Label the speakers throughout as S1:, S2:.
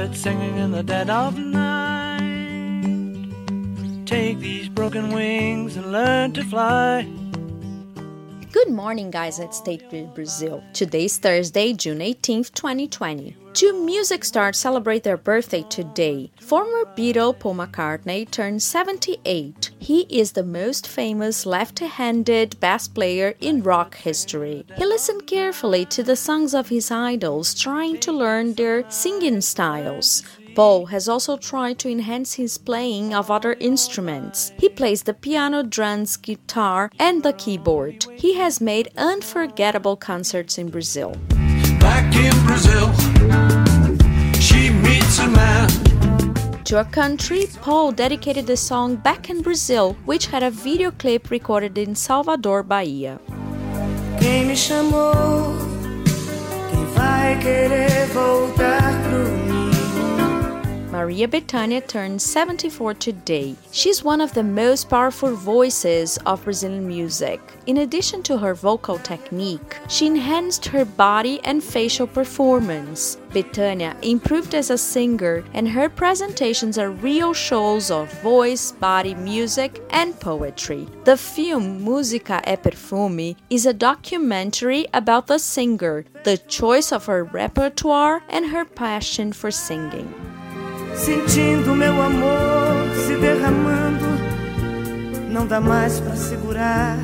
S1: birds singing in the dead of night. Take these broken wings and learn to fly.
S2: Good morning, guys, at State Grid Brazil. Today's Thursday, June 18th, 2020. Two music stars celebrate their birthday today. Former Beatle Paul McCartney turned 78. He is the most famous left-handed bass player in rock history. He listened carefully to the songs of his idols, trying to learn their singing styles. Paul has also tried to enhance his playing of other instruments. He plays the piano, drums, guitar, and the keyboard. He has made unforgettable concerts in Brazil.
S1: Back in Brazil, she meets a man.
S2: To our country, Paul dedicated the song Back in Brazil, which had a video clip recorded in Salvador, Bahia.
S3: Quem me chamou, quem vai querer voltar pro mim?
S2: Maria Bethânia turned 74 today. She's one of the most powerful voices of Brazilian music. In addition to her vocal technique, she enhanced her body and facial performance. Bethânia improved as a singer, and her presentations are real shows of voice, body, music, and poetry. The film Música é Perfume is a documentary about the singer, the choice of her repertoire, and her passion for singing.
S3: Sentindo meu amor se derramando, não dá mais pra segurar,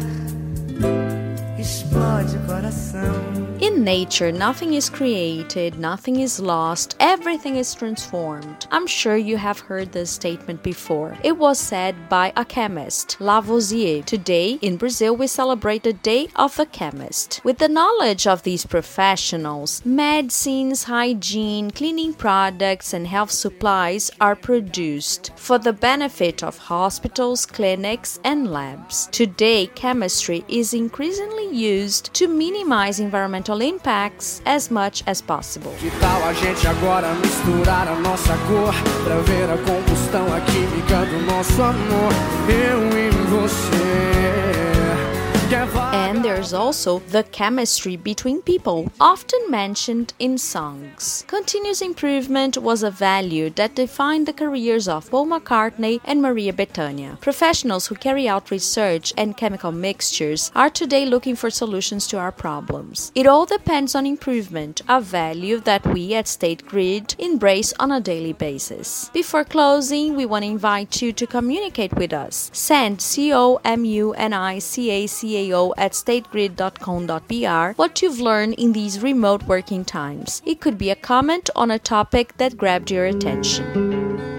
S3: explode o coração.
S2: In nature, nothing is created, nothing is lost, everything is transformed. I'm sure you have heard this statement before. It was said by a chemist, Lavoisier. Today, in Brazil, we celebrate the Day of the Chemist. With the knowledge of these professionals, medicines, hygiene, cleaning products, and health supplies are produced for the benefit of hospitals, clinics, and labs. Today, chemistry is increasingly used to minimize environmental impacts as much as possible.
S4: Que tal a gente agora misturar a nossa cor pra ver a combustão, a química do nosso amor, eu e você.
S2: And there's also the chemistry between people, often mentioned in songs. Continuous improvement was a value that defined the careers of Paul McCartney and Maria Bethânia. Professionals who carry out research and chemical mixtures are today looking for solutions to our problems. It all depends on improvement, a value that we at State Grid embrace on a daily basis. Before closing, we want to invite you to communicate with us. Send COMUNICACAO at stategrid.com.br what you've learned in these remote working times. It could be a comment on a topic that grabbed your attention.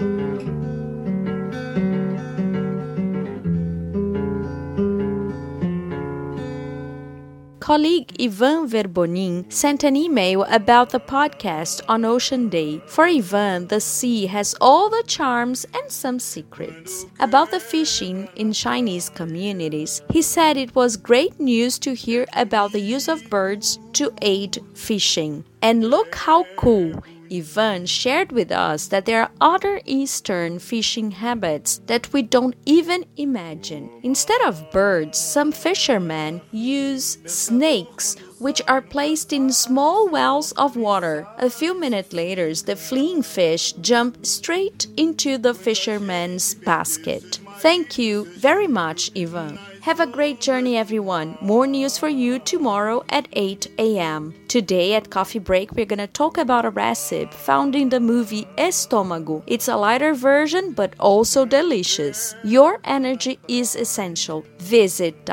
S2: Colleague Ivan Verbonin sent an email about the podcast on Ocean Day. For Ivan, the sea has all the charms and some secrets. About the fishing in Chinese communities, he said it was great news to hear about the use of birds to aid fishing. And look how cool! Ivan shared with us that there are other Eastern fishing habits that we don't even imagine. Instead of birds, some fishermen use snakes, which are placed in small wells of water. A few minutes later, the fleeing fish jump straight into the fisherman's basket. Thank you very much, Ivan. Have a great journey, everyone. More news for you tomorrow at 8 a.m. Today at Coffee Break, we're going to talk about a recipe found in the movie Estômago. It's a lighter version, but also delicious. Your energy is essential. Visit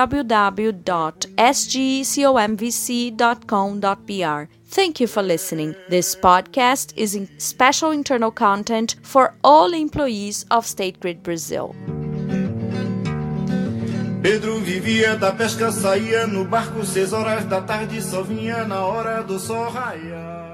S2: www.sgcomvc.com.br. Thank you for listening. This podcast is in special internal content for all employees of State Grid Brazil.
S5: Pedro vivia da pesca, saía no barco 6 horas da tarde, só vinha na hora do sol raiar.